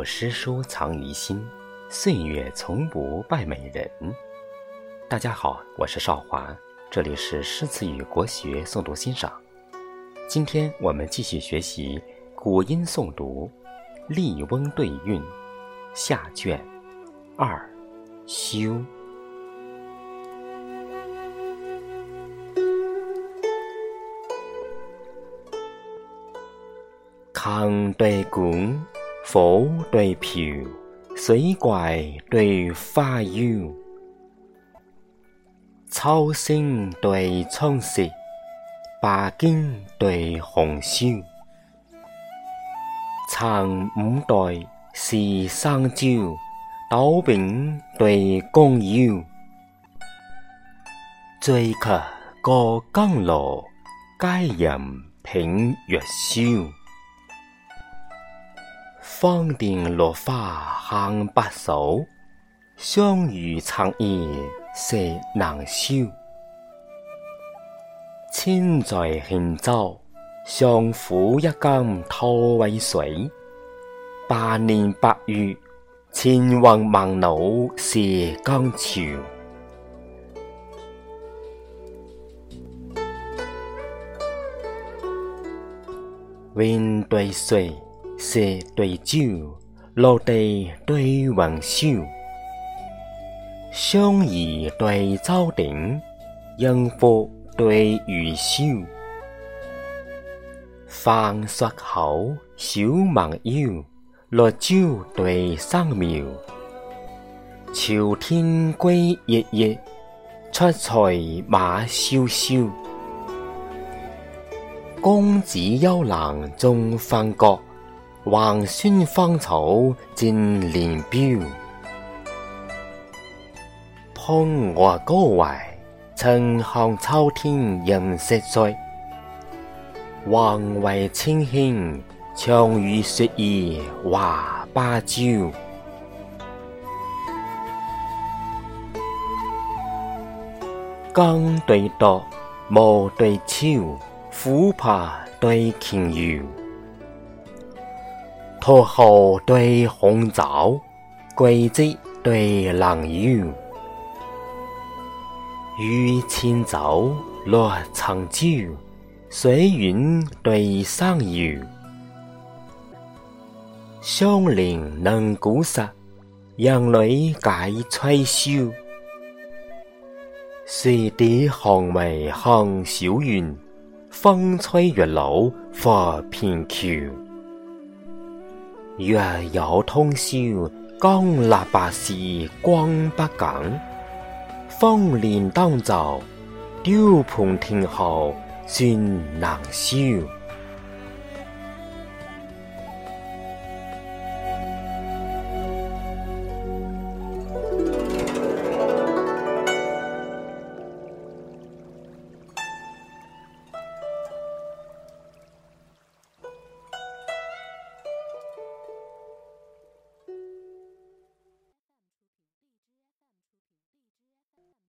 诗书藏于心，岁月从不败美人。大家好，我是少华，这里是诗词与国学诵读欣赏。今天我们继续学习古音诵读《笠翁对韵》下卷2休。坑对管，火对瓢，水怪对花妖，秋聲對春色，白荊對紅綃。陳五代是生椒，斗柄對弓腰。醉客過江羅，佳人品月宵。芳甸落花行白首，相遇長夜食難消。千載輕舟，相負一竿拖為水。百年百月，千雲萬路是江潮。win對水，石對蕉，陸地對雲霄。相宜對舟頂，應付對魚燒。飯xuất口，小蠻腰，落椒對生苗。朝天歸日日，出塞馬蕭蕭。公子幽蘭終分閣，橫孫芳草盡連標。蓬萊高圍，晴空秋天人色衰。橫圍青輕，長於雪兒華芭蕉。江對垛，毛對超，琥珀對瓊瑤。箨號對紅棗，桂枝對蘭腰。與千酒，落長椒，水遠對山遙。相鄰能鼓瑟，人女解吹簫。水底寒微寒小園，風吹月老發片橋。月有通宵，江立白時光不緊。風連當晝，雕盤聽候算難消。